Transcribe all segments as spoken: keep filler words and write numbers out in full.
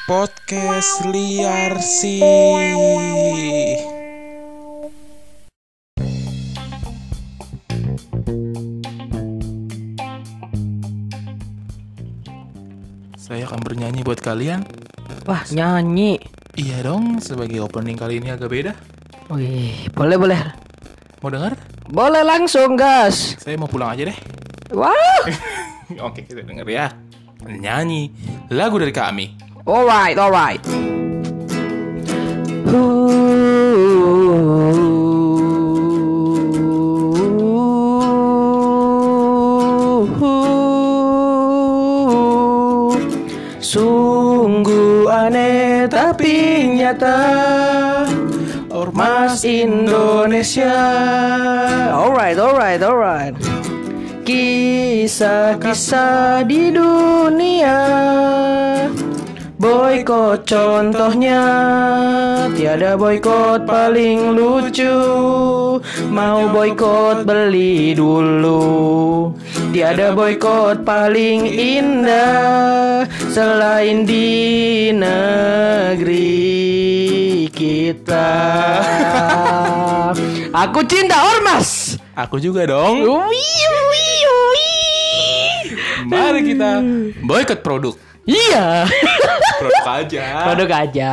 Podcast Liar sih. Saya akan bernyanyi buat kalian. Wah, nyanyi. Iya dong, sebagai opening kali ini agak beda. Wih, boleh boleh. Mau dengar? Boleh langsung, gas. Saya mau pulang aja deh. Wah. Oke, kita denger ya. Nyanyi lagu dari kami. Alright, alright. Sungguh aneh tapi nyata, Ormas Indonesia. Alright, alright, alright. Kisah-kisah di dunia, boykot contohnya. Tiada boykot paling lucu, mau boykot beli dulu. Tiada boykot paling indah selain di negeri kita. Aku cinta Ormas. Aku juga dong. Wih, wih, wih. Mari kita boykot produk. Iya. Produk aja. Produk aja.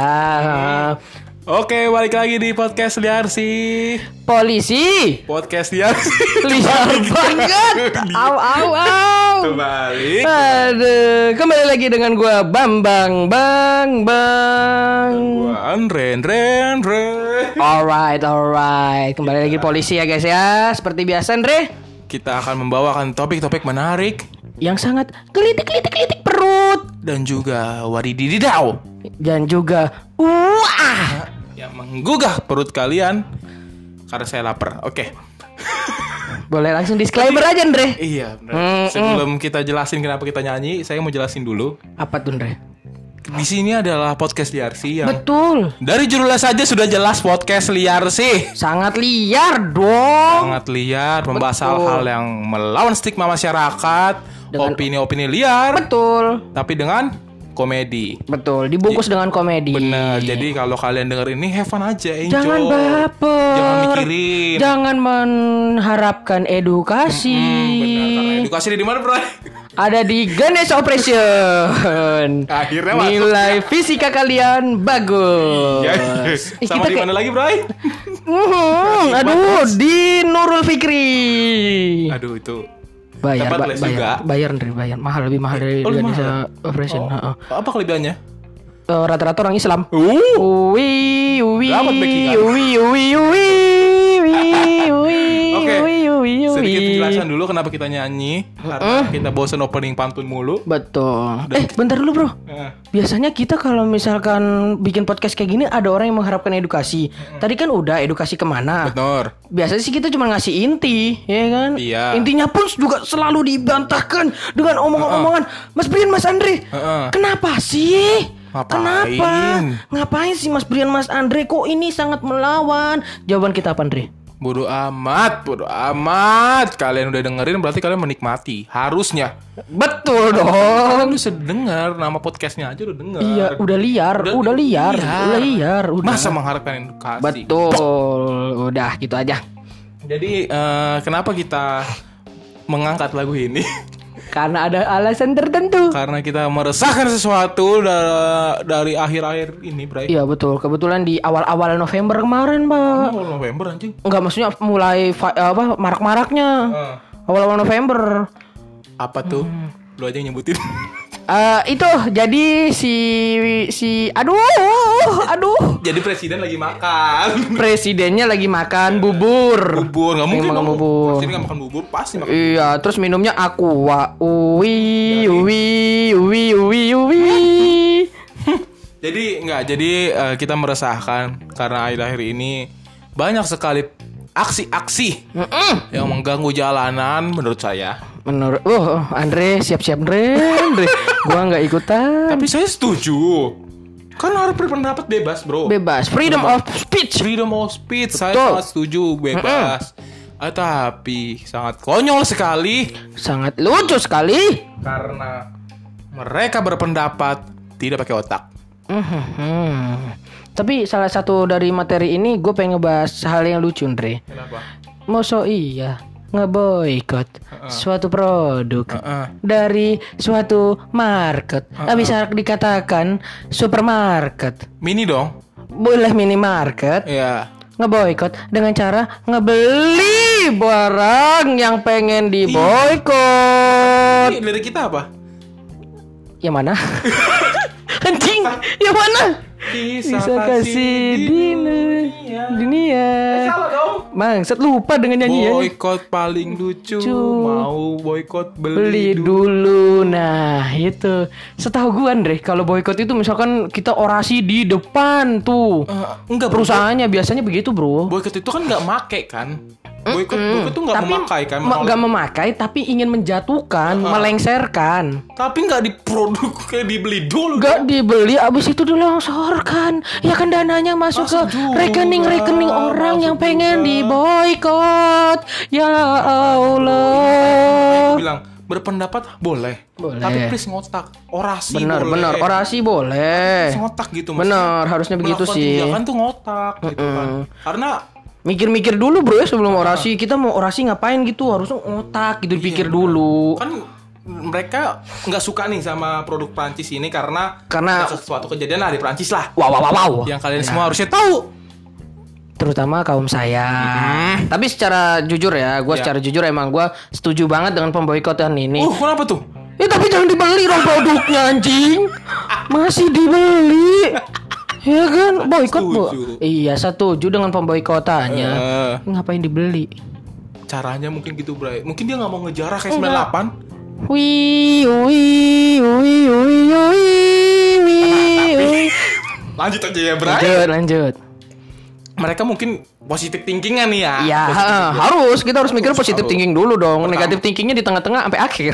Oke, balik lagi di podcast Liar sih. Polisi. Podcast Liar sih. Liar banget. Au au au. Kembali. Aduh, kembali lagi dengan gua Bambang Bang Bang. Gua Andre Andre Andre. Alright, alright. Kembali lagi polisi ya guys ya. Seperti biasa Andre, Kita akan membawakan topik-topik menarik yang sangat gelitik-gelitik-gelitik perut dan juga wadidididau dan juga wah yang menggugah perut kalian karena saya lapar. Oke. boleh langsung disclaimer aja Andre. Iya, benar. Mm, Sebelum kita jelasin kenapa kita nyanyi, saya mau jelasin dulu. Apa tuh Andre? Di sini adalah podcast Liar sih yang Betul. dari judulnya saja sudah jelas podcast Liar sih. Sangat liar dong. Sangat liar, membahas Betul. hal-hal yang melawan stigma masyarakat, Dengan- opini-opini liar, Betul. tapi dengan komedi. Betul, dibungkus dengan komedi. Bener, jadi kalau kalian denger ini have fun aja, enjoy. Jangan baper. Jangan mikirin. Jangan mengharapkan edukasi. Hmm, benar, karena edukasi di mana, Bro? Ada di Ganesh Operation. Akhirnya masuk. Nilai fisika kalian bagus. Ya, Ih, sama di kayak- mana lagi, Bro? Mhm, aduh, di Nurul Fikri. Aduh, itu Bayar, dapat ba- les bayar, juga. bayar, Andre, bayar. Mahal, lebih mahal dari Oh, lebih Ganesh mahal? Operation. Oh, Heeh. apa kelebihannya? Eh, rata-rata orang Islam. Uh. Ui, ui, Dapat backingan. ui, ui, ui, ui, ui, Oke, ui, ui, ui. sedikit penjelasan dulu kenapa kita nyanyi. Karena kita bosan opening pantun mulu. Betul. Eh, bentar dulu bro. Eh, Biasanya kita kalau misalkan bikin podcast kayak gini ada orang yang mengharapkan edukasi. Tadi kan udah edukasi kemana? Benar. Biasanya sih kita cuma ngasih inti, ya kan? Iya. Intinya pun juga selalu dibantahkan dengan omongan-omongan. Mas Brian, Mas Andre, Heeh. kenapa sih? Ngapain? Kenapa? Ngapain sih Mas Brian, Mas Andre? Kok ini sangat melawan? Jawaban kita apa, Andre? Bodoh amat, bodoh amat. Kalian udah dengerin berarti kalian menikmati. Harusnya. Betul dong. Kalian udah denger nama podcastnya aja udah denger. Iya, udah liar, Udah- udah, liar, liar. udah liar, udah. Masa mengharapkan edukasi? Betul, udah gitu aja. Jadi eh, kenapa kita mengangkat lagu ini? Karena ada alasan tertentu. Karena kita meresahkan sesuatu da- dari akhir-akhir ini, Bray. Iya betul, kebetulan di awal-awal November kemarin, Pak. Oh, November anjing. Enggak, maksudnya mulai fa- apa marak-maraknya. Eh, Awal-awal November. apa tuh? Lu aja yang nyebutin. Eh itu jadi si si aduh, aduh. Jadi presiden lagi makan. Presidennya lagi makan bubur. Bubur, nggak mungkin makan dong. bubur. Presiden nggak makan bubur, pasti makan. Iya, terus minumnya aqua. Uwi, uwi, uwi, uwi, uwi. Jadi nggak, jadi eh, kita meresahkan karena akhir-akhir ini banyak sekali aksi-aksi Mm-mm. yang mengganggu jalanan menurut saya. Menurut, oh Andre siap-siap Andre, Andre. Gua nggak ikutan. Tapi saya setuju. Kan harus berpendapat bebas, bro. Bebas, freedom of speech. Freedom of speech, saya Betul. sangat setuju, bebas. Ah, tapi sangat konyol sekali Sangat lucu sekali. karena mereka berpendapat tidak pakai otak. Hmm. Tapi salah satu dari materi ini gue pengen ngebahas hal yang lucu, Andre. Kenapa? Masa iya ngeboikot uh-uh. suatu produk uh-uh. dari suatu market, uh-uh. bisa dikatakan supermarket. Mini dong. Boleh minimarket. Iya. Ngeboikot dengan cara ngebeli barang yang pengen diboikot. Ini lirik kita apa? Yang mana? Anjing, yang mana? Bisa, Bisa kasih di dunia. dunia. Eh, salah dong. Bangsat, lupa dengan nyanyiannya. Boykot paling lucu. Cu. Mau boykot beli, Beli dulu. Nah, itu. Setahu gue, Andre, kalau boykot itu misalkan kita orasi di depan tuh. Uh, enggak, perusahaannya bro. Biasanya begitu, bro. Boykot itu kan nggak make kan? Boykot, Mm-mm. boykot tuh nggak Tapi memakai kan? ma- nggak memakai, tapi ingin menjatuhkan, Uh-uh. melengserkan. Tapi nggak diproduk kayak dibeli dulu. Gak dibeli, abis itu dilongsorkan. Ya kan dananya masuk, Masuk ke juga, rekening-rekening orang masuk yang pengen juga. diboykot. Ya Aku Allah. bilang berpendapat boleh, Boleh. tapi please ngotak. Orasi Bener, boleh. bener. Orasi boleh. Please ngotak gitu. Bener, harusnya begitu melakukan sih. tindakan tuh ngotak gitu kan. Karena Mikir-mikir dulu bro ya sebelum orasi. Kita mau orasi ngapain gitu, harusnya otak gitu, dipikir iya, dulu. kan mereka nggak suka nih sama produk Prancis ini karena Karena- ada sesuatu kejadian lah di Prancis lah. Wow, wow, wow, wow. Yang kalian semua harusnya tahu. Terutama kaum saya. Hmm. Tapi secara jujur ya, gue Ya. secara jujur emang gue setuju banget dengan pemboikotan ini. Uh, kenapa tuh? Eh tapi jangan dibeli dong produknya anjing. Masih dibeli. Ya kan, boikot bu. Setuju. Iya, setuju dengan pemboikotannya. Eh. Ngapain dibeli? Caranya mungkin gitu, Bray. Mungkin dia nggak mau ngejarah kayak sembilan delapan. Wih, wih, wih, wih, wih, wih, wih. Lanjut aja ya, Bray. Lanjut, lanjut. Mereka mungkin positive thinking-nya nih ya. Iya, Positive ha, thinking. harus kita harus mikir Harus, positive harus. thinking dulu dong. Pertama. Negatif thinkingnya di tengah-tengah sampai akhir.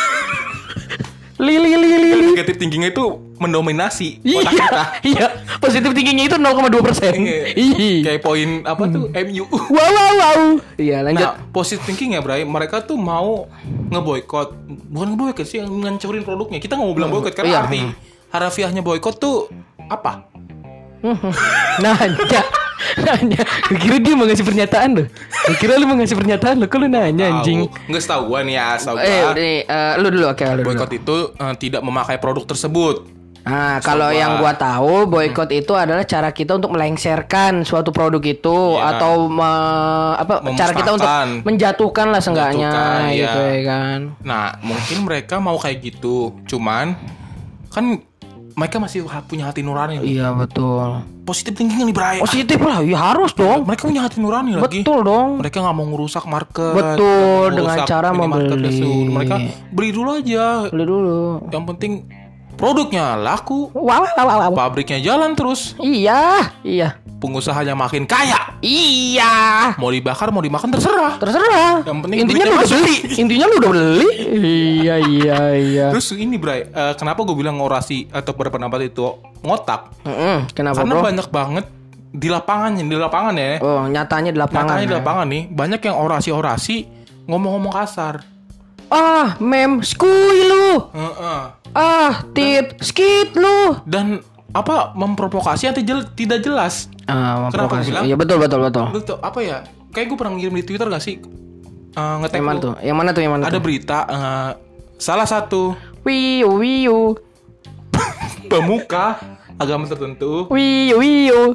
Lili, lili, lili. Negative thinking-nya itu mendominasi otak Iya, kita. iya. Positive thinkingnya itu nol koma dua persen. Ih. Kayak poin apa tuh M U. Wow, wow, wow. Iya, lanjut. Nah, positive thinking ya, Bray. Mereka tuh mau ngeboikot, bukan ngeboikot sih, ngancurin produknya. Kita nggak mau bilang boikot karena Iya. arti harafiahnya boikot tuh apa? Nanya, nanya. Gue kira dia mau ngasih pernyataan loh. Gue kira lu mau ngasih pernyataan loh. Kok lu nanya anjing? Tahu. Nggak tahu gua nih ya, tahu Eh, gua. udah nih, eh, lu dulu, oke, lu dulu. Boikot itu eh, tidak memakai produk tersebut. Nah, kalau Coba. yang gua tahu, boikot itu adalah cara kita untuk melengsarkan suatu produk itu Iya. atau me- apa cara kita untuk Memusnahkan. menjatuhkan lah seenggaknya Menjatuhkan, gitu iya. ya kan. Nah, mungkin mereka mau kayak gitu. Cuman kan mereka masih ha- punya hati nurani. Iya, betul. Positif thinking nih, Bray. Positif lah, ya harus dong. Mereka punya hati nurani lagi. Betul dong. Mereka nggak mau ngerusak market. Betul, nggak mau dengan ngerusak cara minimarket membeli. tersebut. Mereka beli dulu aja. Beli dulu. Yang penting produknya laku, Wow, wow, wow, wow. pabriknya jalan terus, Iya, iya. pengusahanya makin kaya. Iya. Mau dibakar, mau dimakan terserah. Terserah. Yang penting Intinya duitnya lu udah masuk. beli. Intinya lu udah beli. Iya, iya, iya. Terus ini, Bray, eh, kenapa gue bilang orasi atau berpendapat itu ngotak? Mm-mm, kenapa, Karena bro? banyak banget di lapangan, di lapangan ya. Oh, nyatanya di lapangan. Nyatanya di ya. lapangan nih, banyak yang orasi-orasi ngomong-ngomong kasar. Ah, mem, skui lu. Heeh. Ah, tit, skit lu. Dan apa memprovokasi yang tidak tidak jelas. Ah, Kenapa memprovokasi. gua bilang? Iya, betul, betul, betul. Lu tuh apa ya? Kayak gue pernah ngirim di Twitter gak sih? Uh, nge-tag Yang mana lu. tuh? Yang mana tuh? Yang mana Ada tuh? berita eh, salah satu Wiu, wiu. pemuka agama tertentu Wiu, wiu.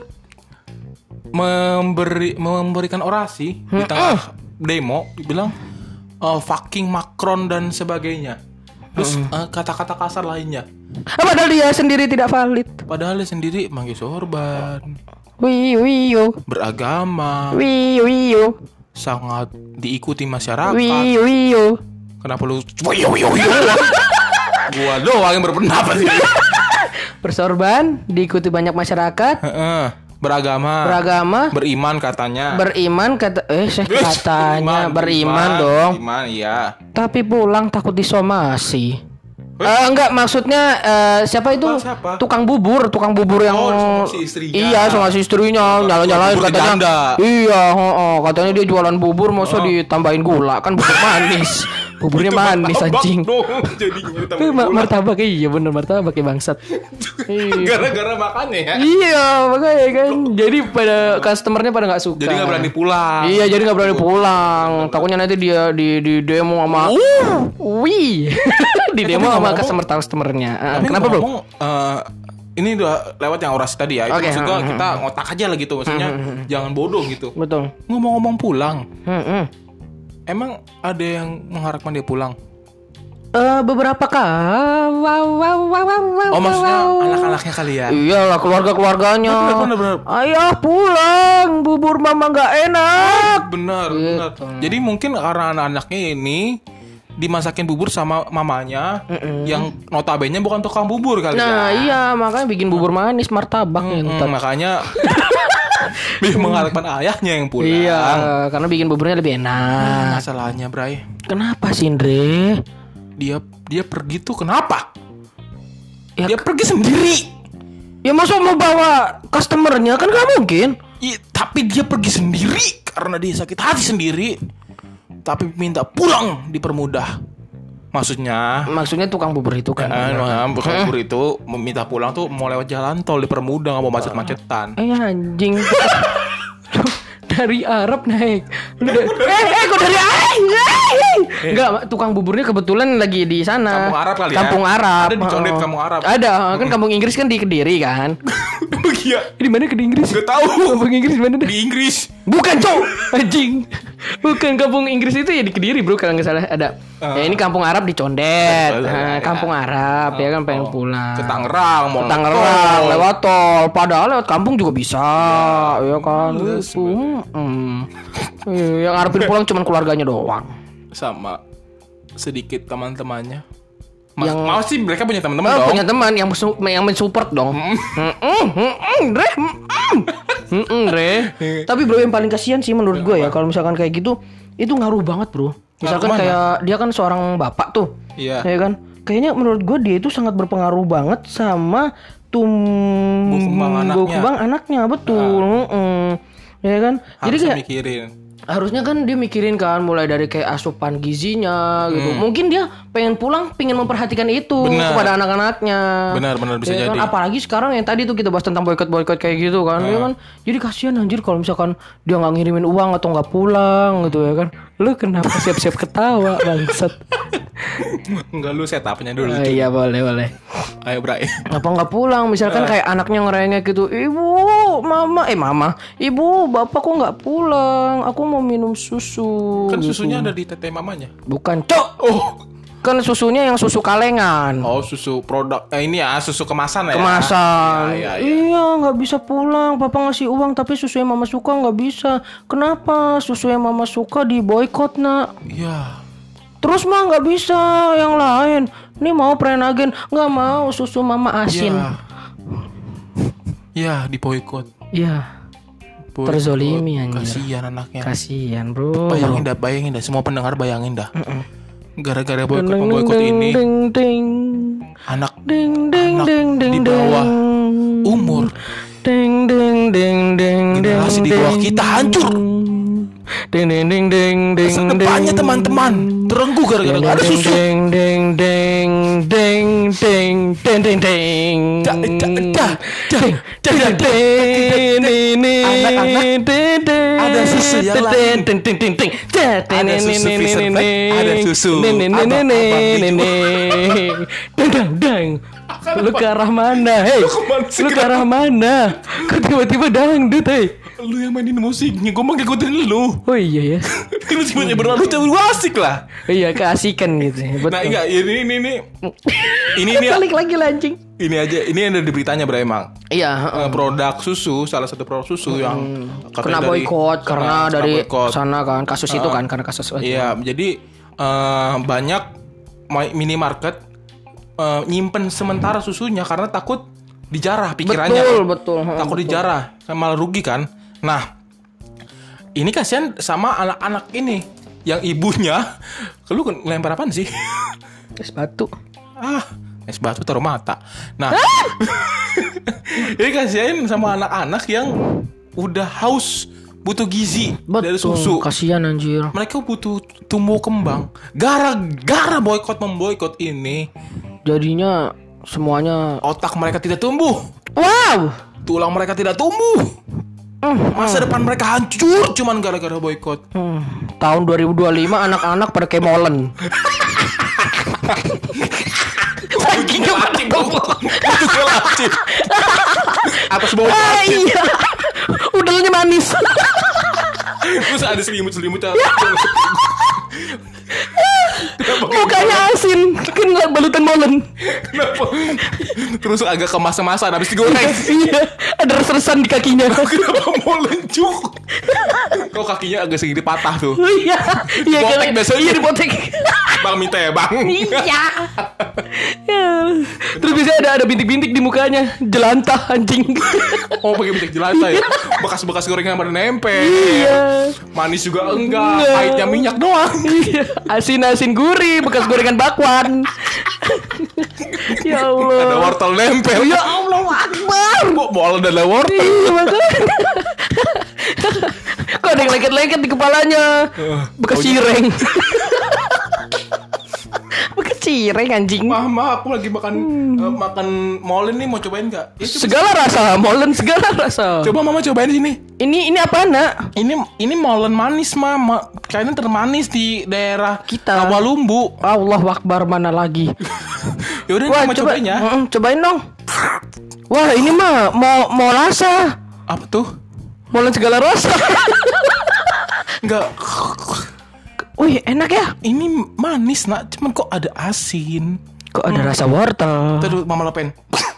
memberi memberikan orasi di tengah demo, dibilang eh, fucking Macron dan sebagainya. Terus eh, kata-kata kasar lainnya. Ah, padahal dia sendiri tidak valid. Padahal dia sendiri manggil sorban, Wiu, wiu. beragama, Wiu, wiu. sangat diikuti masyarakat. Wiu, wiu. Kenapa lu Wiyo, wiyo, wiyo. Gua doang yang berpendapat sih. Bersorban, diikuti banyak masyarakat, Heeh. Beragama, beragama, beriman katanya. beriman kata eh saya Wih, katanya beriman, dong. Beriman, iya. Tapi pulang takut disomasi. Eh, enggak, maksudnya eh, siapa itu? Siapa, siapa? Tukang bubur, tukang bubur yang Oh, sama si istrinya. Iya, sama si istrinya nyala-nyalain Bubur katanya. janda. Iya, heeh, katanya dia jualan bubur masa Oh. ditambahin gula, kan bubur manis. Buburnya Itu manis martabak anjing. dong, jadinya Eh, ditambah ma- gula. martabak iya bener martabak ya bangsat. Iya. Gara-gara makannya ya. Iya, makanya kan. Jadi pada customernya pada nggak suka. Jadi nggak berani pulang. Iya, jadi nggak berani pulang. Takutnya nanti dia di di demo sama wih. Di demo sama ngomong-ngomong- customer customernya. Ah, Tapi kenapa, Bro? ngomong, eh, ini udah lewat yang orasi tadi ya. Itu Oke, maksud gua hmm, kita ngotak aja lah gitu. Maksudnya jangan bodoh gitu. Betul. Ngomong-ngomong pulang, Hmm, hmm. emang ada yang mengharapkan dia pulang? Eh, beberapa kah? Wow, wow, wow, wow, wow, Oh, maksudnya wow. anak-anaknya kali ya? Iyalah keluarga-keluarganya. Bener, bener, bener. Ayah pulang, bubur mama nggak enak. Benar, Gitu. benar. Jadi mungkin karena anak-anaknya ini dimasakin bubur sama mamanya yang notabene bukan tukang bubur kali Nah, ya. iya makanya bikin bubur manis martabak Hmm, ngentot. makanya dia mengharapkan ayahnya yang pulang. Iya, karena bikin buburnya lebih enak. Masalahnya, Bray, Kenapa sih, Andre? dia dia pergi tuh kenapa? Ya, Dia pergi sendiri. ya masa mau bawa customernya kan gak mungkin. I, tapi dia pergi sendiri karena dia sakit hati sendiri. Tapi minta pulang dipermudah. Maksudnya, Maksudnya tukang bubur itu kan. eh, bukan bubur itu meminta pulang tuh mau lewat jalan tol dipermudah, nggak mau macet-macetan. Eh anjing. Dari Arab naik. Lu da- eh, eh kok dari Arab? Enggak, tukang buburnya kebetulan lagi di sana. Kampung Arab kali ya? Kampung Arab. Ada di Condet, Oh. Kampung Arab. Ada, kan kampung Inggris kan di Kediri kan. Iya, Di mana ke Inggris? nggak tahu. Kampung Inggris di mana dah? Di Inggris. Bukan, Cok. Anjing. Bukan kampung Inggris itu ya di Kediri, Bro, kalau nggak salah ada. Ya ini kampung Arab di Condet. Betul, Nah, ya. kampung Arab ya kan pengen Oh, pulang. ke Tangerang, mau Ke Tangerang lewat tol, padahal lewat kampung juga bisa, ya kan. Iya, Itu. Hmm. Iya, yang ngarepin pulang cuman keluarganya doang. sama sedikit teman-temannya. Mas, Yang- mau sih mereka punya teman-teman Oh, dong. punya teman yang mensu- yang mensupport dong. Heeh, heeh, Dre. Heeh, Dre. Tapi bro yang paling kasihan sih menurut gue ya kalau misalkan kayak gitu itu ngaruh banget, Bro. Misalkan Ngaruh mana? kayak dia kan seorang bapak tuh. Iya. Ya kan? Kayaknya menurut gue dia itu sangat berpengaruh banget sama tumbuh kembang anaknya. kembang anaknya, betul. Heeh. Ya kan? Jadi Harusnya kayak mikirin. harusnya kan dia mikirin kan mulai dari kayak asupan gizinya gitu. Mungkin dia pengen pulang, pengen memperhatikan itu Benar. kepada anak-anaknya. Benar-benar bisa Ya kan? jadi. Apalagi sekarang yang tadi tuh kita bahas tentang boykot-boykot kayak gitu kan. Ya kan? Jadi kasihan anjir kalau misalkan dia nggak ngirimin uang atau nggak pulang gitu ya kan. Lu kenapa siap-siap ketawa bangsat? Enggak, lu setupnya dulu. Ah, cuy. iya boleh boleh. Ayo, Bray. Apa nggak pulang? Misalkan kayak anaknya ngerengek gitu, ibu, mama, eh mama, ibu, bapak kok nggak pulang? Aku mau minum susu. Kan gitu. susunya ada di tete mamanya. Bukan, cok. Oh. Kan susunya yang susu kalengan. Oh, susu produk. Eh, ini ya, susu kemasan ya. Kemasan. Iya, iya, iya. Iya, nggak bisa pulang. Papa ngasih uang, tapi susu yang mama suka nggak bisa. Kenapa? Susu yang mama suka di boykot, nak. Iya. Terus mah nggak bisa yang lain. Nih mau Prenagen, nggak mau susu mama asin. Iya. Iya, di boykot. Iya. Boykot. Terzolimi, anjir. Kasihan anaknya. Kasihan, bro. Bayangin dah, bayangin dah. Semua pendengar bayangin dah. Gara-gara Ding, boykot ding, boykot ding, ini, ding, ding. anak Ding ding anak ding ding di bawah ding. umur Ding ding ding ding generasi di bawah kita hancur. Ding ding ding ding ding. Masa depannya teman-teman terenggu gara-gara nggak ada susu. Ding ding ding ding ding ding ding ding. Dah, dah, dah, dah, dah, dah, dah. Ini Anak-anak, ada susu yang lain. Ting ting ting ting. Ada susu Fisher Black, ada susu abang-abang hijau. Dang dang dang. Lu ke arah mana? Hei, kemana sih? lu ke arah mana? Kok tiba-tiba dangdut, hei? Lu yang mainin musiknya, gue mau ngikutin lu. Oh iya ya. Lu semuanya berlalu jauh asik lah. Iya, keasikan gitu. ya, Betul. Nah, enggak, ini ini ini ini ini Balik lagi lancing. ini aja, ini yang ada di beritanya, Bro, emang. Iya, Eh, produk susu, salah satu produk susu yang kena katanya dari- boykot karena kena- kena dari boykot. sana kan kasus itu kan karena kasus Iya, jadi eh, banyak ma- minimarket eh, nyimpen sementara susunya karena takut dijarah pikirannya. Betul, betul. Takut dijarah, kan malah rugi kan. Nah, ini kasihan sama anak-anak ini yang ibunya, lu lempar apaan sih? Es batu. Ah, es batu taruh mata. Nah, ini kasihin sama anak-anak yang udah haus, butuh gizi dari susu. Kasihan anjir. Mereka butuh tumbuh kembang. Gara-gara boykot memboikot ini, jadinya semuanya otak mereka tidak tumbuh. Wow. Tulang mereka tidak tumbuh. Masa depan mereka hancur cuman gara-gara boykot. Hmm. Tahun dua ribu dua puluh lima anak-anak pada kayak molen. Saking gelacip, itu gelacip. Atas bawah Ah, gelacip. iya. Udelnya manis. Terus ada selimut-selimut. Mukanya asin, kan balutan molen. Kenapa? Terus agak kemas-kemasan habis digoreng. Iya, ada res-resan di kakinya. Kenapa mau lencuk? Kok kakinya agak sedikit patah tuh. Iya, iya Dipotek biasanya. Iya, dipotek. Bang minta ya bang. Iya. Ya. Terus biasanya ada ada bintik-bintik di mukanya, jelantah anjing. Oh pakai minyak jelantah ya. Bekas-bekas gorengan pada nempel. Iya. Manis juga enggak. Enggak. Pahitnya minyak doang. Iya, asin-asin gurih, bekas gorengan bakwan. Ya Allah. Ada wortel nempel. Ya Allah Akbar. Kok bola dan ada wortel. Iya, makanya. Kok ada yang lengket-lengket di kepalanya. Bekas Oh, iya. cireng. Bekas cireng anjing. Mama aku lagi makan eh, makan molen nih, mau cobain nggak? Ya, coba. Segala rasa, molen segala rasa. Coba mama cobain sini. Ini ini apa nak? Ini ini molen manis mama. Kayaknya termanis di daerah Kita. Rawalumbu. Allah Akbar, mana lagi? Yaudah Wah, mama coba, cobain ya. Mm-mm, cobain dong. Wah, ini mah mau mau rasa. Apa tuh? Molen segala rasa. Enggak. Wih, enak ya. Ini manis nak, cuman kok ada asin. Kok ada rasa wortel? Terus mama lepen.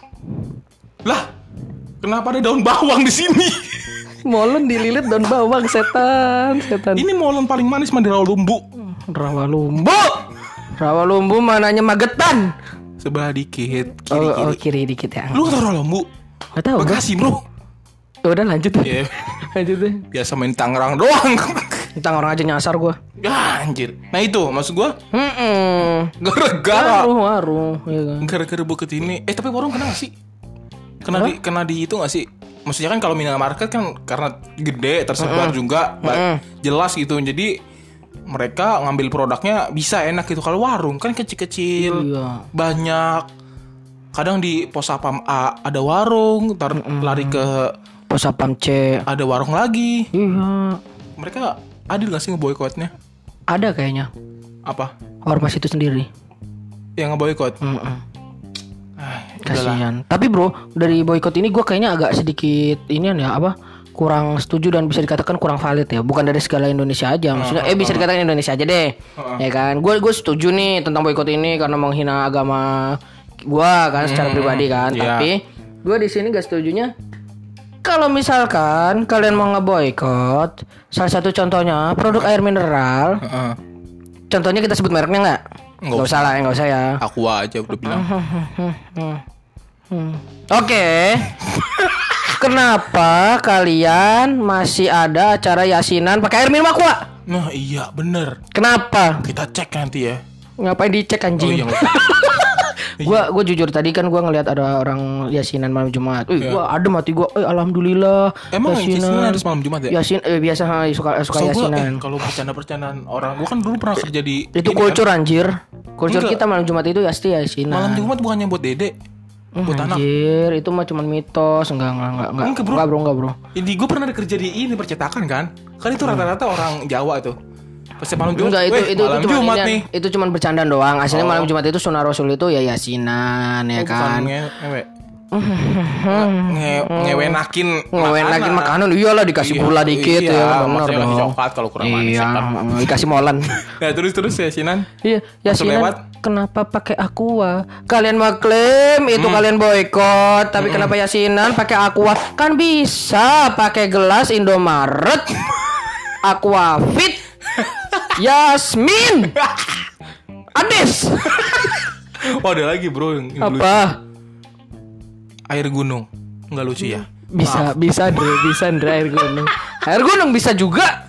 Lah, kenapa ada daun bawang di sini? Molen dililit daun bawang, setan, setan. Ini molen paling manis mah di Rawalumbu. Rawalumbu. Rawalumbu mananya Magetan. Sebelah dikit, Oh, kiri-kiri. oh, kiri dikit ya. Lu tau Rawalumbu? Gak tahu. Bro. Bekasi bro. Udah lanjut deh. Iya. Lanjut deh. Biasa main Tangerang doang. Tentang orang aja nyasar gua. Ya anjir. Nah itu maksud gua. Hmm. Gara-gara Warung, warung, iya kan. Gara-gara buket ini. Eh tapi warung kena gak sih? Kena di, kena di itu gak sih? Maksudnya kan kalau minimarket kan karena gede tersebar juga ba- jelas gitu. Jadi mereka ngambil produknya bisa enak gitu. Kalau warung kan kecil-kecil, Iya. banyak. Kadang di pos sapam A ada warung, ntar lari ke Pos Sapam C. ada warung lagi. Iya. Mereka adil gak sih ngeboikotnya? Ada kayaknya. Apa? Ormas itu sendiri. Yang ngeboikot? Mm-mm. Ah, udahlah. Kasihan. Tapi bro, dari boykot ini gue kayaknya agak sedikit inian ya apa? Kurang setuju dan bisa dikatakan kurang valid ya. Bukan dari segala Indonesia aja. Maksudnya, eh bisa dikatakan Indonesia aja deh. Ya kan. Gue gue setuju nih tentang boykot ini karena menghina agama gue kan secara pribadi kan. iya. Tapi gue di sini gak setujunya. Kalau misalkan kalian mau ngeboykot, salah satu contohnya produk air mineral. Heeh. Contohnya kita sebut mereknya nggak? Nggak Nggak usah lah, ya, nggak usah ya. Aku aja udah bilang. Oke. Kenapa kalian masih ada acara yasinan pakai air minum aqua? Nah iya bener. Kenapa? Kita cek nanti ya. Ngapain dicek Oh anjing? iya. Gua gua jujur tadi kan gua ngelihat ada orang yasinan malam Jumat. Wih, Iya. gua adem hati gua. Eh alhamdulillah. Emang yasinan harus malam Jumat ya? Yasin eh biasa ha, suka suka So, gua, eh, yasinan. kalau bercanda-bercandaan orang, gua kan dulu pernah kerja di Itu ini kultur anjir. Kultur Enggak. kita malam Jumat itu pasti kan. yasinan. Malam Jumat bukannya buat dede, Hmm, buat anak. anjir, itu mah cuma mitos. Enggak enggak enggak enggak. Enggak, bro. Enggak, bro, enggak, bro. Ini gue pernah kerja di ini percetakan kan? Kan itu rata-rata orang Jawa tuh. Pasti malam Jumat. Enggak, itu weh, itu malam itu cuma Jumat nih. itu cuma bercandaan doang. Aslinya Oh. malam Jumat itu sunah Rasul itu ya yasinan ya Oh, bukan kan. nge- ngewe. Nge ngewenakin Ngewenakin makanan iyalah dikasih Iya, gula dikit iya, ya benar maksudnya ngasih dong. coklat kalau kurang manis Iya, ya kan. dikasih molen. Nah terus terus ya Sinan. Iya, Langsung yasinan lewat. kenapa pakai aqua? Kalian mengklaim itu kalian boykot, tapi kenapa yasinan pakai aqua? Kan bisa pakai gelas Indomaret. Aquafit. Yasmin. Ades. Oh ada lagi bro yang, yang lucu. Apa? Air gunung. Nggak lucu ya? Bisa, bisa Dre, bisa Dre air gunung. Air gunung bisa juga.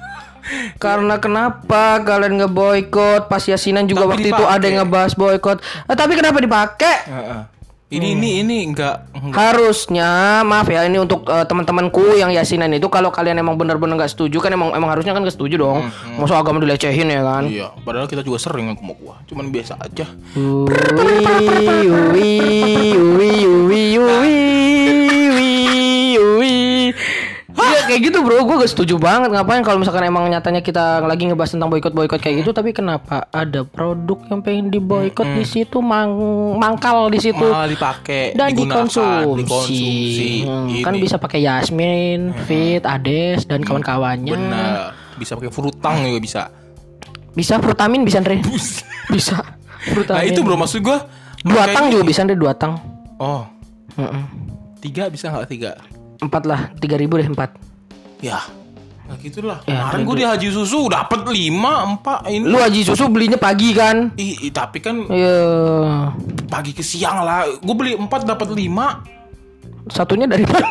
Karena kenapa kalian ngeboikot? Pas Yasinan juga Tapi waktu itu dipakai. ada yang ngebahas boikot. Eh, tapi kenapa dipakai? Heeh. Ini ini ini enggak, enggak. Harusnya, maaf ya, ini untuk uh, teman-temanku yang Yasinan itu, kalau kalian emang benar-benar nggak setuju kan emang emang harusnya kan nggak setuju dong. Masa agama dilecehin ya kan? Iya, padahal kita juga sering ngaku gua. Cuman biasa aja. Uwi, uwi, uwi, uwi, uwi, uwi, uwi. Iya kayak gitu bro, gue gak setuju banget. Ngapain kalau misalkan emang nyatanya kita lagi ngebahas tentang boikot-boikot kayak gitu, tapi kenapa ada produk yang pengen diboikot di situ, mang mangkal di situ Malah dipakai, dan digunakan, dikonsumsi, dikonsumsi. Hmm, kan Ini. bisa pakai Yasmin, Fit, Ades dan kawan-kawannya. Benar. Bisa pakai frutang juga bisa. Bisa frutamin bisa Andre. Bisa frutamin. Nah itu bro, maksud gua Dua mereka tang ini- juga bisa Andre, dua tang. Oh, Heeh. tiga bisa nggak tiga? Empat lah, tiga ribu deh empat. Ya, nah gitulah. Ya, Kemarin gue di Haji Susu dapat lima empat ini. Lu Haji Susu belinya pagi kan? I, i- tapi kan Iya. pagi ke siang lah. Gue beli empat dapat lima. Satunya dari mana?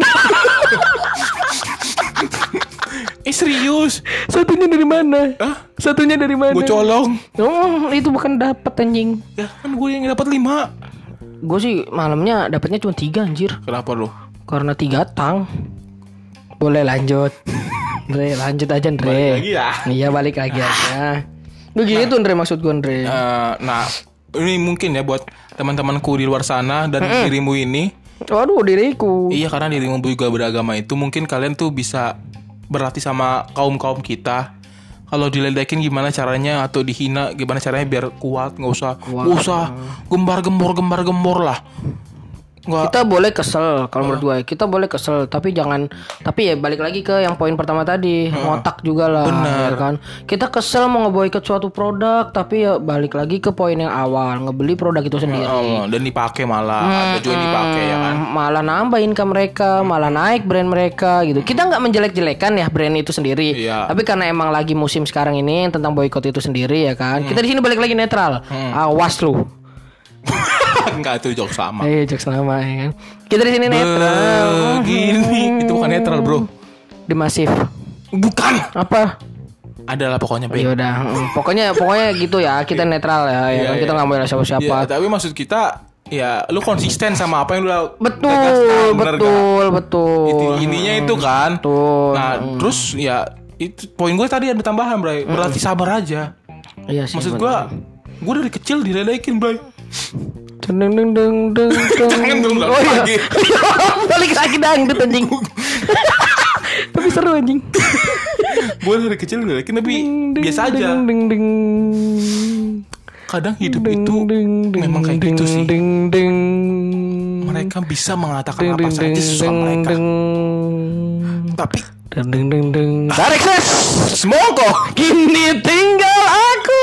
Eh serius? Satunya dari mana? Hah? Satunya dari mana? Gue colong. Oh, itu bukan dapat anjing. Ya kan gue yang dapat lima. Gue sih malamnya dapatnya cuma tiga anjir. Kenapa lo? Karena tiga tang. Boleh lanjut. Andre, lanjut aja Andre. Balik lagi ya? Iya balik lagi aja. Begitu Andre maksud gue Andre. Eh, nah, ini mungkin ya buat teman-temanku di luar sana dan dirimu ini. Waduh diriku. Iya, karena dirimu juga beragama itu, mungkin kalian tuh bisa berlatih sama kaum-kaum kita. Kalau diledekin gimana caranya, atau dihina gimana caranya biar kuat, nggak usah, nggak usah gembar-gembor, gembar-gembor lah. Nggak. Kita boleh kesel kalau menurut gue. Kita boleh kesel, tapi jangan. Tapi ya balik lagi ke yang poin pertama tadi, ngotak juga lah. Bener. Ya kan. Kita kesel mau ngeboikot suatu produk, tapi ya balik lagi ke poin yang awal, ngebeli produk itu sendiri. Oh, dan dipakai malah, ada juga yang dipakai ya kan. Malah nambah income mereka, malah naik brand mereka gitu. Kita nggak menjelek-jelekan ya brand itu sendiri. Iya. Tapi karena emang lagi musim sekarang ini tentang boikot itu sendiri ya kan. Kita di sini balik lagi netral. Awas lu. Enggak, itu jokes sama. Eh, jokes lama ya kan. Kita di sini netral. Begini, itu bukan netral bro. Di masif. Bukan. Apa? Adalah pokoknya Ya baik. udah, mm, pokoknya pokoknya gitu ya. Kita netral ya, ya Iya, kan? Kita iya. nggak mau siapa-siapa. Ya, tapi maksud kita, ya lu konsisten sama apa yang lu udah Betul, tegaskan, bener betul, gak? betul. Itu ininya itu kan. Betul. Nah, terus ya itu poin gue tadi ada tambahan, Bray. Berarti sabar aja. Iya sih. Maksud bener. gue, gue dari kecil diledekin, Bray. Deng deng deng deng deng. Jangan dong, Oh iya. lagi. Balik lagi dangdut anjing. Tapi seru anjing. Gue dari kecil diledekin tapi Deng, biasa aja. deng, deng, deng. Kadang hidup Deng, itu deng, deng, memang kayak deng, gitu sih. deng, deng. Mereka bisa mengatakan Deng, apa deng, saja deng, sesuka deng, mereka. deng. Tapi Deng deng deng deng. Tarik ses. Semongko. Kini tinggal aku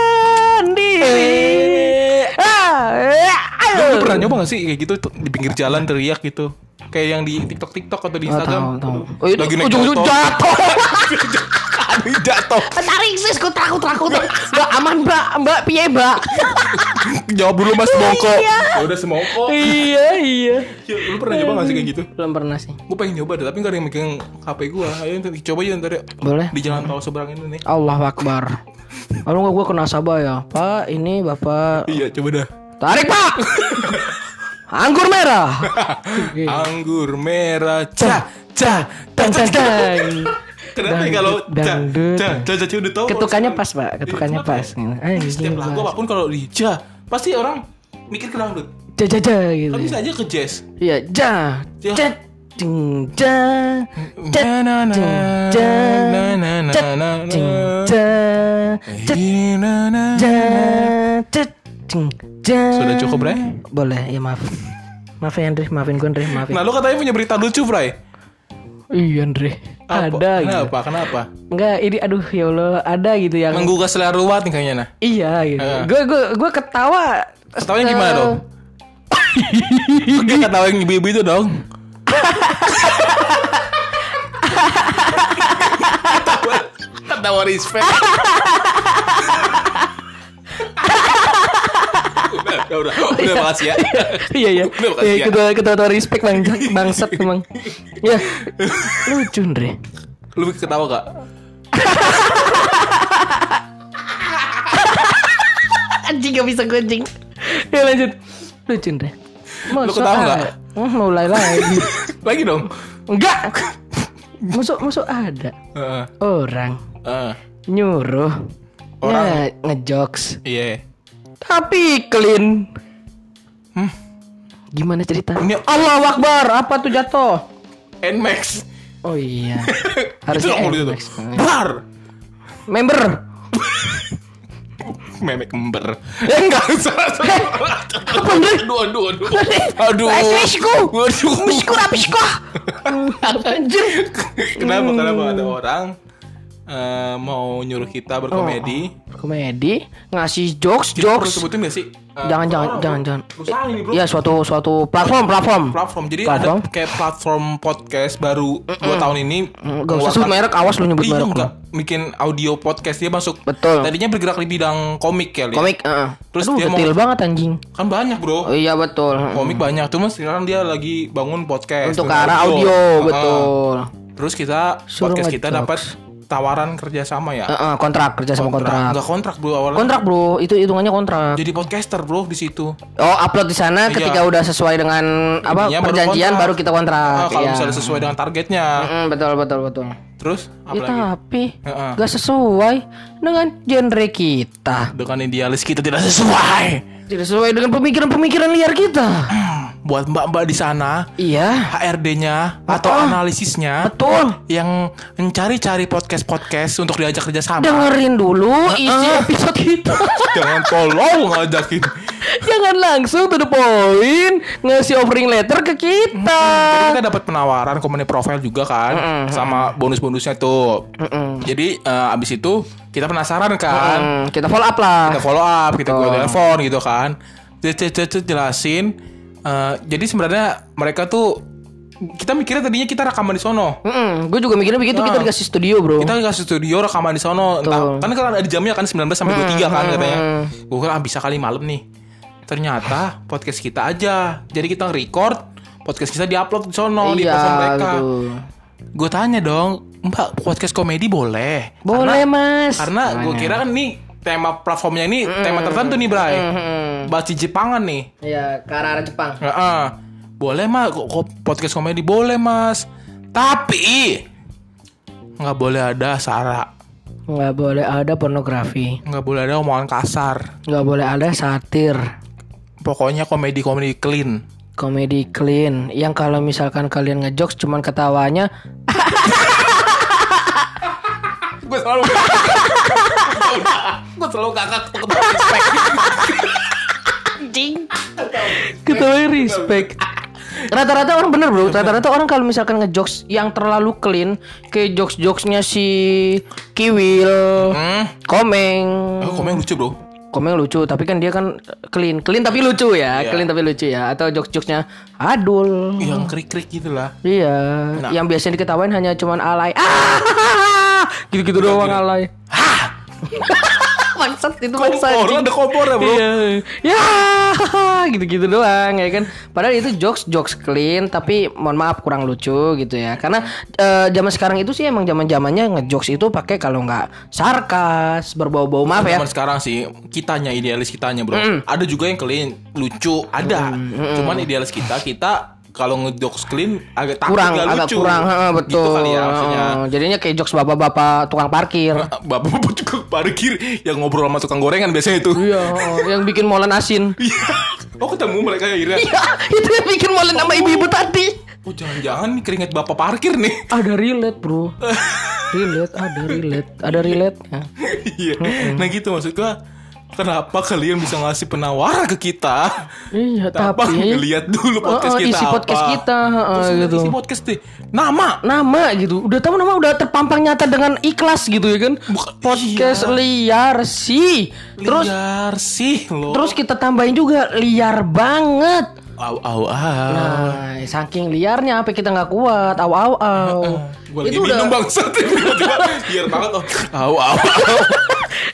sendiri. Ah, lu pernah nyoba gak sih kayak gitu tuh, di pinggir jalan teriak gitu? Kayak yang di TikTok TikTok atau di Oh, Instagram. tahu, tahu. Oh, itu Lagi naik ujung-ujung motor. jatuh. Aduh, jatuh. Tarik sis, ku takut takut. Mbak aman mbak, mbak piye mbak? Jawab dulu Mas Semongko. Iya. Ya udah Semongko. Iya iya. Ya, lu pernah nyoba gak sih kayak gitu? Belum pernah sih. Gue pengen nyoba deh, tapi gak ada yang megang H P gue. Ayo ntar coba aja ntar ya. Boleh. Di jalan tol seberang ini nih. Allahu Akbar. Kalau nggak gue kena sabah ya, Pak. Ini bapak. Iya, coba dah. Tarik pak. Anggur merah. Anggur merah, ca, ca, Tang tang tang. Kenapa ya kalau ca, Dangdut. ca, ca, ca, ca, udah tahu. Ketukannya pas pak, ketukannya Iya, pas. kenapa Eh, Setiap lagu apapun kalau di ja, pasti orang mikir ke dangdut. Ja ja ja gitu. Kan bisa aja ke jazz. Iya, ja. Ja. Ja. Ding ja. Ja. Na, na, Ding ja. na, na, na, Ja. na, na. Ding ja. Ja. Na, na, Ja. na. Ja. Ding ja. Sudah cukup, Bre? Boleh, ya maaf. Maaf ya Andre, maafin gue Andre, maafin. Nah, lu katanya punya berita lucu, Bray. Iya Andre. Apa? Ada gitu. Kenapa? Kenapa? Enggak, ini aduh ya Allah, ada gitu yang Menggugah selera ruwet nih kayaknya nah. iya gitu. Heeh. Gue gue gue ketawa. Ketawanya gimana Eh, dong? Gue ketawain ibu-ibu itu dong. Ketawa, ketawa respect. udah, udah, udah, udah makasih ya. Iya iya. Udah, makasih Iya ya. ketua ketua respect bang bangsat emang. Ya. Lucu Andre. Lu ketawa gak? Anjing gak bisa kucing. Ya lanjut. Lucu deh. Lu ketawa nggak? Hmm, mulai lagi. Lagi dong. Enggak. Masuk masuk ada Uh, orang uh, nyuruh Orang? nge- ngejokes iya. tapi clean. Hmm. Gimana cerita? Ini- Allahu Akbar. Apa tuh jatuh? Nmax. Oh iya. Itu Harusnya nggak boleh tuh. Nmax. Bar. Member. Memek ember. Eh enggak. Apa bener? Aduh, aduh, aduh. Aduh. Esku. Aduh. Misku rapisku. Anjir. Kenapa? Kenapa ada orang eh, mau nyuruh kita berkomedi? Komedi, ngasih jokes, Kita perlu jokes. sebutin gak sih? Eh, Jangan, jangan, apa, jangan, bro? jangan. Usaha ini, bro. Ya suatu suatu platform, platform. Platform. Jadi Platform. ada kayak platform podcast baru dua tahun ini. Mm, Gak usah sebut merek, awas lu nyebut Iya merek. enggak. Bikin audio podcast dia masuk. Betul. Tadinya bergerak di bidang komik ya. Li. Komik, heeh. Terus Aduh, dia mau- detail banget anjing. Kan banyak, Bro. Oh iya betul. Komik banyak. Cuma sekarang dia lagi bangun podcast. Untuk ke dengan arah audio, Heeh. betul. Terus kita Suruh podcast kita ngejokes. dapat tawaran kerjasama ya. Heeh, kontrak kerja sama kontrak. Enggak kontrak, Bro, awalnya. Kontrak bro, itu hitungannya kontrak. Jadi podcaster, Bro, di situ. Oh upload di sana Iya. ketika udah sesuai dengan apa Intinya baru perjanjian kontrak. baru kita kontrak. Ah, kalau Iya. misalnya sesuai dengan targetnya. Mm, betul betul betul. Terus apa Ya, lagi? tapi Heeh. gak sesuai dengan genre kita. Dengan idealis kita tidak sesuai. Tidak sesuai dengan pemikiran-pemikiran liar kita. Buat mbak-mbak di sana, Iya, H R D-nya atau Betul. analisisnya betul. yang mencari-cari podcast-podcast untuk diajak kerjasama. Dengerin dulu isi episode kita. Jangan tolong ngajakin. Jangan langsung to the point ngasih offering letter ke kita. Jadi kita dapat penawaran company profile juga kan, sama bonus-bonusnya tuh. Mm-mm. Jadi eh, abis itu kita penasaran kan, Hmm, kita follow up lah. kita follow up, kita Betul. gua telepon gitu kan, Cet- cet- cet- jelasin. Eh, jadi sebenarnya mereka tuh kita mikirnya tadinya kita rekaman di sono. Gue juga mikirnya begitu, kita Nah. dikasih studio bro. Kita kasih studio rekaman di sono. Entah, kan kan ada jamnya kan sembilan belas sampai dua puluh tiga kan katanya. Gue kira ah, bisa kali malam nih. Ternyata podcast kita aja. Jadi kita record podcast kita diupload di sono di Iya, platform mereka. betul. Gue tanya dong, Mbak, podcast komedi boleh? Boleh Karena, mas. Karena gue kira kan nih tema platformnya ini tema tertentu nih, Bray. Bahasa Jepangan nih. Iya, ke arah Jepang. Heeh. Boleh mas, kok kok podcast komedi boleh mas. Tapi nggak boleh ada sara, Nggak boleh ada pornografi. nggak boleh ada omongan kasar. Nggak boleh ada satir. Pokoknya komedi komedi clean. Komedi clean. Yang kalau misalkan kalian ngejokes cuman ketawanya. Gue selalu gue selalu kakak ketawa respect. Anjing. Ketawanya respect. Rata-rata orang bener bro. Rata-rata orang kalau misalkan ngejokes yang terlalu clean, kayak jokes-jokesnya si Kiwil, Hmm. Komeng. Oh, komen lucu bro. Komeng lucu, tapi kan dia kan clean, clean tapi lucu ya, Iya. clean tapi lucu ya. Atau jokes-jokesnya Adul. Yang krik krik gitulah. Iya, Nah. yang biasanya diketawain hanya cuman alay. Ah, gitu-gitu doang gini. alay. Maksud itu Kompor, ada kompor ya bro. Iya. Ya, gitu-gitu doang ya kan. Padahal itu jokes jokes clean tapi mohon maaf kurang lucu gitu ya. Karena eh, zaman sekarang itu sih emang zaman-zamannya ngejokes itu pakai kalau nggak sarkas, berbau-bau maaf ya. Zaman sekarang sih kitanya idealis kitanya bro. Ada juga yang clean lucu ada. Cuman idealis kita kita kalau ngejokes clean agak takut Kurang gak agak lucu. kurang, heeh, betul. Gitu kali ya maksudnya. Heeh, jadinya kayak jokes bapak-bapak tukang parkir. Bapak-bapak tukang parkir yang ngobrol sama tukang gorengan biasanya itu. Iya, heeh, yang bikin molen asin. Oh ketemu mereka akhirnya. Iya, itu yang bikin molen sama ibu-ibu tadi. Oh jangan-jangan nih keringet bapak parkir nih. Ada relate, Bro. Relate, ada relate, ada relate. Ya. Iya. Nah gitu maksud gua. Kenapa kalian bisa ngasih penawaran ke kita? Iya, Tanpa tapi ngeliat dulu podcast Heeh, kita isi apa. podcast kita, heeh, Terus gitu. isi podcast deh. Nama. Nama gitu. Udah tahu nama udah terpampang nyata dengan ikhlas gitu ya kan. Bukan- Podcast iya. liar sih. Terus Liar sih lo. terus kita tambahin juga liar banget. Au au au. Nah, saking liarnya apa kita nggak kuat. Au au au. Gue lagi minum bangsat. Liar banget oh. Au au au.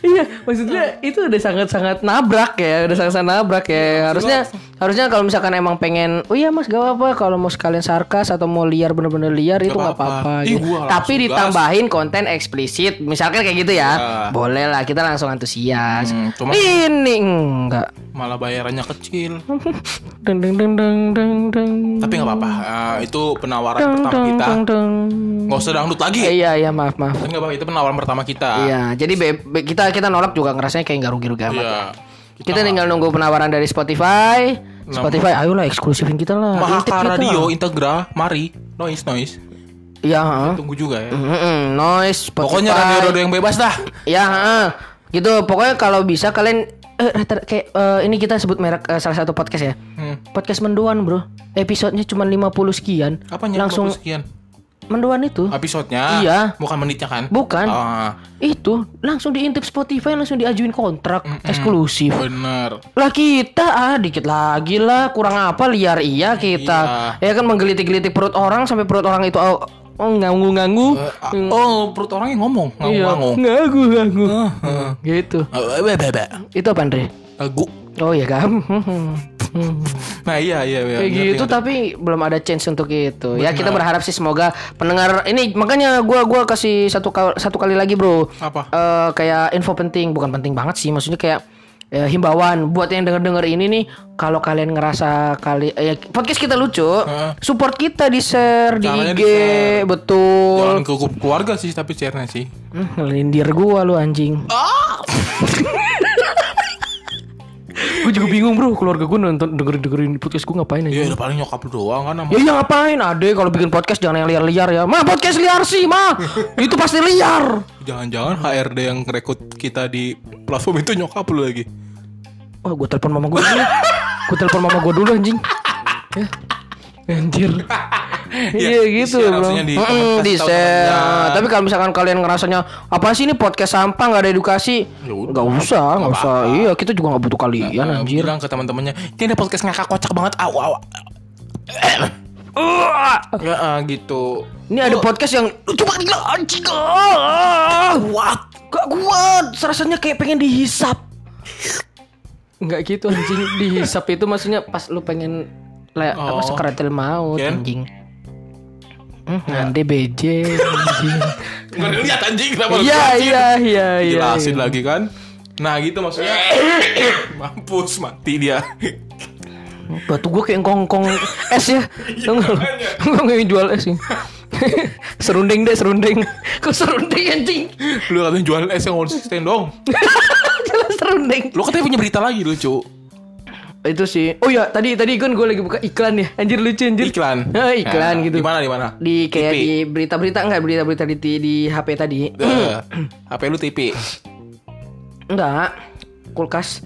Iya, maksudnya itu udah sangat-sangat nabrak ya, udah sangat-sangat nabrak ya. Harusnya harusnya kalau misalkan emang pengen, oh iya Mas gak apa-apa kalau mau sekalian sarkas atau mau liar bener-bener liar itu nggak apa-apa. Ih, Gitu. gua Tapi langsung ditambahin konten eksplisit, misalkan kayak gitu ya, Ya. boleh lah kita langsung antusias. Hmm, cuma- Ini enggak. Malah bayarannya kecil. Deng deng deng deng deng deng. Tapi nggak apa-apa. Ah, itu penawaran Deng, pertama deng, kita. deng, deng. Nggak usah dangdut lagi. Eh, Iya iya maaf maaf. Tapi nggak apa-apa. Itu penawaran pertama kita. Iya, jadi be- be- kita kita nolak juga ngerasanya kayak nggak rugi-rugi amat. Iya. Kita tinggal nunggu penawaran dari Spotify. Spotify, ayolah eksklusifin kita lah. Intip Mahaka kita. Radio, Integra, mari, noise noise. Iya, heeh. Tunggu juga ya. Mm-mm, noise, Spotify. Pokoknya radio-radio yang bebas dah. Ya, heeh. Gitu. Pokoknya kalau bisa kalian eh, rata- kayak eh, ini kita sebut merek eh, salah satu podcast ya. Hmm. Podcast Mendoan, Bro. Episodenya cuma lima puluh sekian. Apanya? Langsung lima puluh sekian. Mendoan itu. Episodenya. Iya. Bukan menitnya kan? Bukan. Ah, Itu langsung diintip Spotify, langsung diajuin kontrak eksklusif. bener. Lah kita ah dikit lagi lah, kurang apa liar iya kita. Ya kan menggelitik-gelitik perut orang sampai perut orang itu oh, oh nganggu-nganggu. Eh, ah, oh, perut orangnya ngomong, Iya, ngomong. nganggu-nganggu. Heeh. Gitu. Eh, be- be- be. Itu apa Andre? Lagu. Oh iya kan. Nah, iya iya iya. Kayak ngerti, gitu ngerti. tapi belum ada chance untuk itu. Ya kita berharap sih semoga pendengar ini makanya gua gua kasih satu kali, satu kali lagi, Bro. Apa? Eh, kayak info penting, bukan penting banget sih, maksudnya kayak ya, himbauan buat yang denger-denger ini nih, kalau kalian ngerasa kali ya, podcast kita lucu, Heeh. support kita di share di Caranya I G, di-share. betul. Jangan ke grup keluarga sih, tapi share-nya sih. Hmm, Ngelindir gua lu anjing. Gue juga bingung bro, keluarga gue nonton dengerin dengerin podcast gue ngapain aja? Iya, udah paling nyokap lu doang kan sama. Ya, ya ngapain? Ade kalau bikin podcast jangan yang liar-liar ya. Ma podcast liar sih, ma. Itu pasti liar. Jangan-jangan H R D yang rekrut kita di platform itu nyokap lu lagi. Oh, gue telepon mama gue dulu. Gue telepon mama gue dulu anjing. Ya. Anjir. Iya gitu di-share, bro. harusnya di Mm-mm, comment, di kasih tahu share. temennya. Tapi kalau misalkan kalian ngerasanya apa sih ini podcast sampah nggak ada edukasi, Ya udah. nggak usah, nggak usah. apa-apa. Iya kita juga nggak butuh kalian Nah, anjir. bilang ke teman-temannya, ini ada podcast ngakak kocak banget. Aw, aw. Ya, ah, gitu. Ini ada podcast yang coba gila anjing. Ah, kuat. Gak kuat. Rasanya kayak pengen dihisap. Enggak gitu anjing. Dihisap itu maksudnya pas lu pengen le, apa Oh. sekaratil maut Ken? anjing. Hmm, ngande B J anjing. Nggak lihat anjing kenapa lu Iya jelasin? iya iya iya. Jelasin iya. lagi kan. Nah gitu maksudnya. Mampus mati dia. Batu gua kayak kongkong es ya. Tahu enggak? Gua nggak jual es ini. Serunding deh serunding. Kok serunding anjing? Lu katanya jual es yang konsisten dong. Jelas serunding. Lu katanya punya berita lagi lucu. Itu sih. Oh ya, tadi tadi kan gue lagi buka iklan ya. Anjir lucu anjir. Iklan. Nah, iklan Nah, gitu. Di mana di mana? Di kayak T V. di berita-berita enggak berita-berita di di H P tadi. Eh, H P lu T V. Enggak. Kulkas.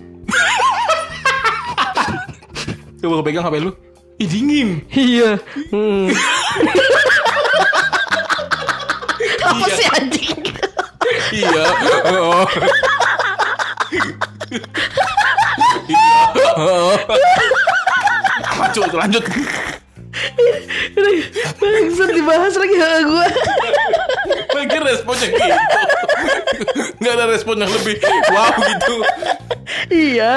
Coba gue pegang H P lu. Ih dingin. Iya. Hmm. Apa Iya. sih anjing? Iya. Oh. Iya. Oh. Lanjut, lanjut. Bangsat dibahas lagi sama gue. Lagi responnya gitu. Nggak ada respon yang lebih wow gitu. Iya.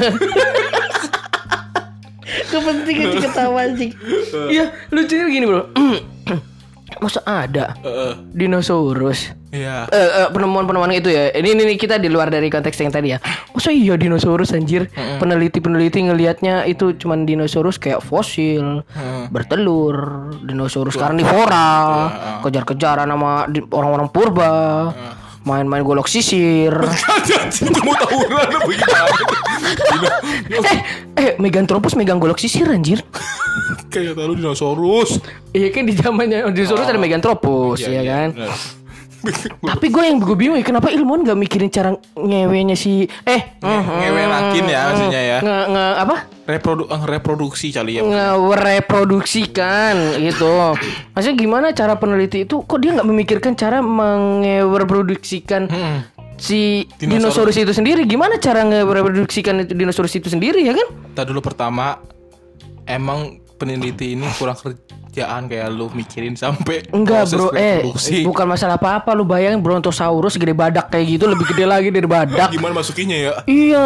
Kepentingan sih ketawa anjing. Iya, lucunya gini, Bro. Masa ada Heeh. dinosaurus? Iya. Eh, eh, penemuan-penemuan itu ya. Ini, ini kita di luar dari konteks yang tadi ya. Masa iya dinosaurus anjir? Peneliti-peneliti ngelihatnya itu cuman dinosaurus kayak fosil, bertelur, dinosaurus karnivora, kejar-kejaran sama di- orang-orang purba, main-main golok sisir. Gue mau tawuran apa gimana? eh, eh, Meganthropus megang golok sisir anjir. Kayak tahu dinosaurus. Iya kan di zamannya dinosaurus ada Meganthropus ya kan. bener. Tapi gue yang gue bingung ya kenapa ilmuwan gak mikirin cara ngewenya si eh Ngewelakin ya maksudnya ya. nge, nge apa Reprodu eh, reproduksi kali ya. ngereproduksikan gitu. Maksudnya gimana cara peneliti itu kok dia nggak memikirkan cara mengereproduksikan si dinosaurus. Dinosaurus. itu sendiri? Gimana cara ngereproduksikan itu dinosaurus itu sendiri ya kan? Tadi dulu pertama emang peneliti ini kurang kerjaan kayak lu mikirin sampai Enggak proses bro, eh reproduksi. bukan masalah apa-apa. Lu bayangin Brontosaurus gede badak kayak gitu, lebih gede lagi dari badak. Gimana masukinnya ya? Iya.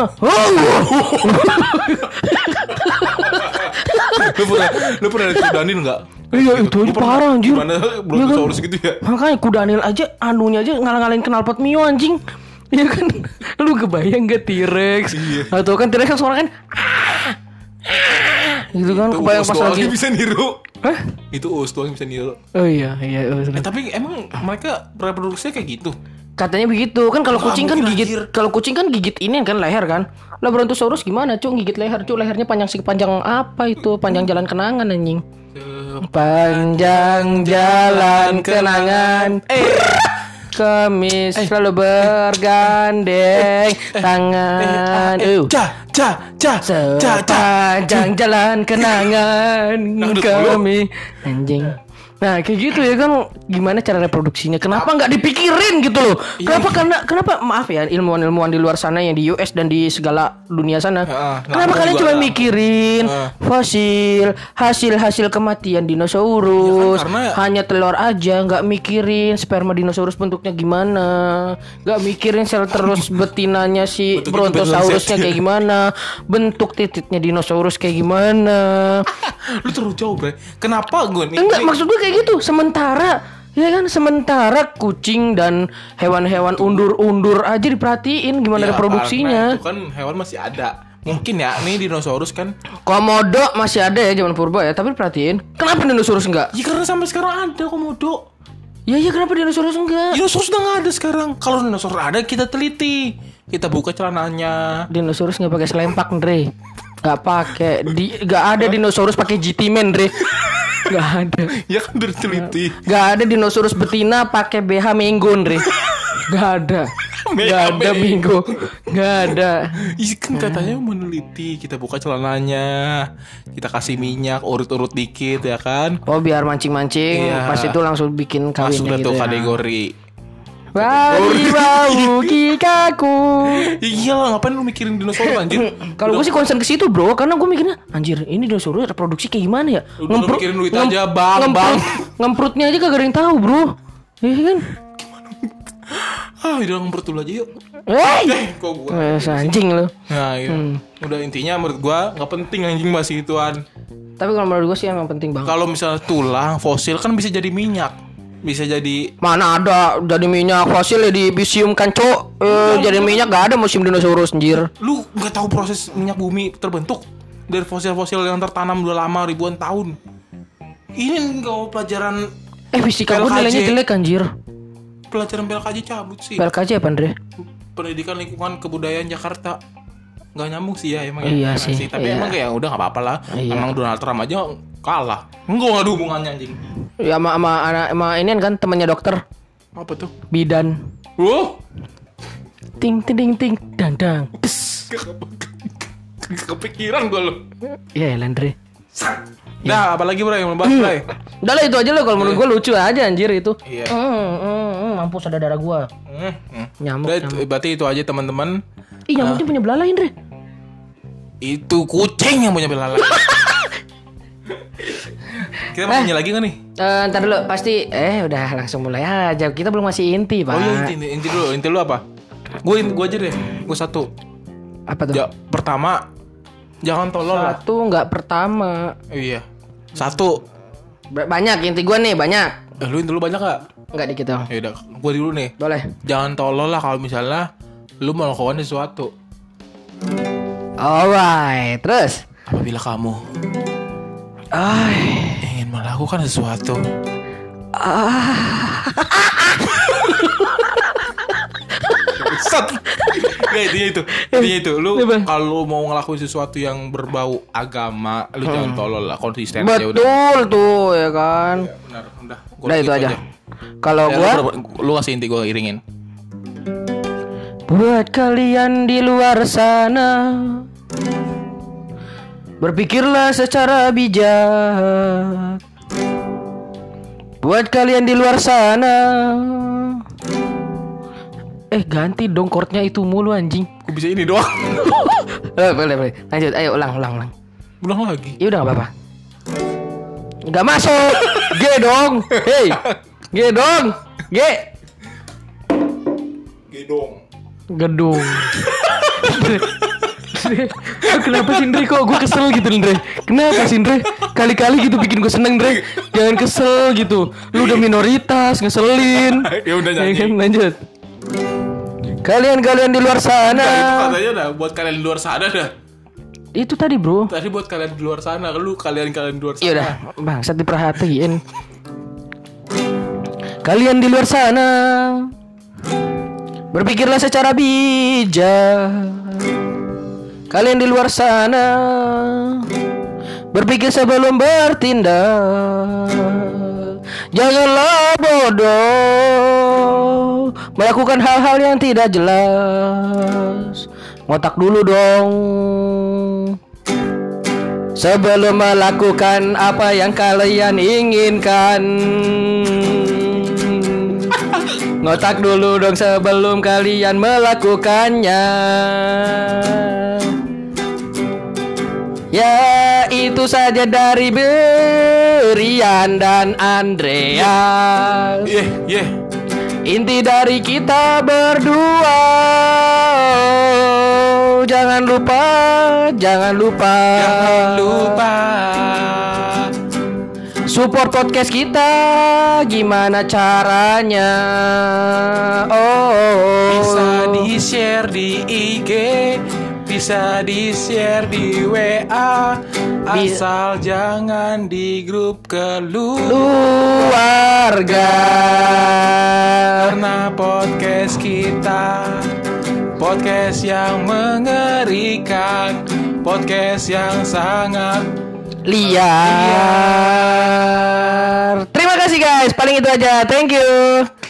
Lu pernah lu pernah lihat kudanil nggak? Iya itu aja parah anjir. Gimana Brontosaurus gitu ya? Makanya kudanil aja anunya aja ngalang-ngalain knalpot Mio anjing. Iya kan? Lu kebayang gak T-Rex? Iya. Atau kan T-Rex kan suara kan gitu kan, Itu kebayang us pas doang lagi. yang bisa niru. Hah? Itu us doang yang bisa niru. Oh iya, iya. Oh, Eh, tapi emang mereka reproduksinya kayak gitu? katanya begitu kan. Kalau Wah, kucing kan mungkin gigit, anjir. kalau kucing kan gigit ini kan leher kan. Lah Brontosaurus gimana cuk, gigit leher cuk, lehernya panjang sih, panjang apa itu, panjang jalan kenangan anjing. Panjang jalan kenangan, eh kami selalu bergandeng tangan. Eh, Uh. ca, ca, ca, ca, ca. Sepanjang jalan kenangan Dangdut kami anjing. Nah kayak gitu ya kan, gimana cara reproduksinya? Kenapa nggak dipikirin gitu loh? Kenapa? Karena kenapa? Maaf ya ilmuwan-ilmuwan di luar sana yang di U S dan di segala dunia sana. Heeh, Kenapa ngaku kalian juga cuma ada. mikirin Heeh. fosil, hasil-hasil kematian dinosaurus, Ya kan, karena- hanya telur aja, nggak mikirin sperma dinosaurus bentuknya gimana, nggak mikirin sel terus betinanya si Bentuknya Brontosaurusnya juga kayak gimana, bentuk titiknya dinosaurus kayak gimana. Lu terlalu jauh, Bre. Kenapa gue nih? Enggak, ini- maksud gue kayak gitu. Sementara ya kan, sementara kucing dan hewan-hewan undur-undur aja diperhatiin gimana Ya, reproduksinya. karena itu kan hewan masih ada. Mungkin ya, nih dinosaurus kan. Komodo masih ada ya zaman purba ya, tapi perhatiin. Kenapa dinosaurus enggak? Ya karena sampai sekarang ada komodo. Ya ya kenapa dinosaurus enggak? Dinosaurus udah nggak ada sekarang. Kalau dinosaurus ada, kita teliti. Kita buka celananya. Dinosaurus nggak pakai selempak, Andre. Nggak pakai. Di nggak ada dinosaurus pakai G T Man, Andre. Nggak ada. Ya kan udah diteliti. Nggak ada dinosaurus betina pakai B H Menggo, Andre. Nggak ada. Nggak ada Menggo. Nggak ada. Ih, kan katanya meneliti. Kita buka celananya. Kita kasih minyak, urut-urut dikit ya kan. Oh biar mancing-mancing, Iya. pas itu langsung bikin Masuk kawinnya dah gitu tuh ya. kategori. Wali bau kikaku. Iya lah, ngapain lu mikirin dinosaurus anjir? Kalau gue sih concern ke situ bro, karena gue mikirnya anjir ini dinosaurus reproduksi kayak gimana ya? Lu mikirin duit aja, Bang, Bang. Ngemprutnya aja kagak ada yang tahu bro. Iya kan? Ah, udah ngumpet dulu aja yuk. Hei, Eh, kok gua. Eh, anjing lu. Nah, iya. Udah intinya menurut gua nggak penting anjing bahas gituan. Tapi kalau menurut gue sih emang penting banget. Kalau misalnya tulang fosil kan bisa jadi minyak. Bisa jadi Mana ada jadi minyak fosil ya di museum kan cok. Eh, jadi minyak gak ada museum dinosaurus anjir. lu nggak tahu proses minyak bumi terbentuk dari fosil-fosil yang tertanam udah lama ribuan tahun. Ini enggak pelajaran Eh fisika gue P L K J. nilainya jelek anjir. pelajaran P L K J cabut sih. P L K J apa Andre? Pendidikan lingkungan kebudayaan Jakarta. Nggak nyambung sih ya emang ya. Iya Emang sih, Tapi iya. emang kayak udah nggak apa-apa lah. Iya. Emang Donald Trump aja kalah. Enggak nggak ada hubungannya anjing. Ya sama sama anak sama ini kan temannya dokter Apa tuh? bidan. Wow. Ting ting ting ting dandang. Pes. Kepikiran gue lo. Iya, Landre. Nah, apalagi bro yang membahas bro. Udah lah itu aja lo, kalau menurut gue lucu aja anjir itu. Iya. Hmm, hmm, hmm, mampus ada darah gue. Hmm, hmm. Nyamuk, Udah, nyamuk. itu- berarti itu aja teman-teman. Ih, nyamuknya punya belalai, Andre. Itu kucing yang punya belalai. Kita mau nyanyi lagi gak nih? Eh, ntar dulu pasti eh udah langsung mulai aja. Kita belum masih inti, Pak. Oh iya inti, inti, inti dulu. Inti lu apa? Gue gue aja deh. Gue satu. Apa tuh? Ja, pertama, jangan tolol lah. Satu nggak pertama. Iya. Satu. Ba- Banyak inti gue nih, banyak. Eh, lu inti lu banyak gak? Enggak dikit dong. Ya udah, gue dulu nih. Boleh. Jangan tolol lah kalau misalnya lu melakukan sesuatu. Alright, terus. Apabila kamu Ay. ingin melakukan sesuatu, Sat. Gak intinya itu Intinya itu Lu Apa? kalau mau ngelakuin sesuatu yang berbau agama, lu jangan tolol lah, konsisten aja udah. Betul tuh ya kan. Ya, benar, udah. Gua Udah gitu itu aja. Kalau Ya, gua lu, lu kasih inti gue iringin. buat kalian di luar sana, berpikirlah secara bijak. Buat kalian di luar sana. Eh ganti dong chordnya itu mulu anjing. Gue bisa ini doang. Eh, boleh boleh. Lanjut, ayo ulang ulang ulang. Ulang lagi. Ya udah nggak apa-apa. Nggak masuk. G dong. Hei. G dong. G. Gedong. Gedung. Kenapa sih Ndre? Kok gue kesel gitu Ndre? Kenapa sih Ndre? Kali-kali gitu bikin gue seneng Ndre. Jangan kesel gitu. Lu udah minoritas, ngeselin. Ya udah nyanyi. Ya kan, lanjut. Kalian-kalian di luar sana. Nah, itu katanya dah buat kalian di luar sana dah. Itu tadi bro. Tadi buat kalian di luar sana. Lu kalian-kalian di luar sana. Iya udah, bangsat diperhatiin. Kalian di luar sana, berpikirlah secara bijak. Kalian di luar sana, berpikir sebelum bertindak. Janganlah bodoh melakukan hal-hal yang tidak jelas. Ngotak dulu dong sebelum melakukan apa yang kalian inginkan. Ngotak dulu dong sebelum kalian melakukannya. Ya itu saja dari Berian dan Andreas. Yeah, yeah. Inti dari kita berdua. Jangan lupa, jangan lupa, Jangan lupa support podcast kita. Gimana caranya? Oh, bisa di-share di I G, bisa di-share di W A, asal jangan di grup keluarga. Karena podcast kita podcast yang mengerikan, podcast yang sangat liar. Terima kasih guys, paling itu aja. Thank you.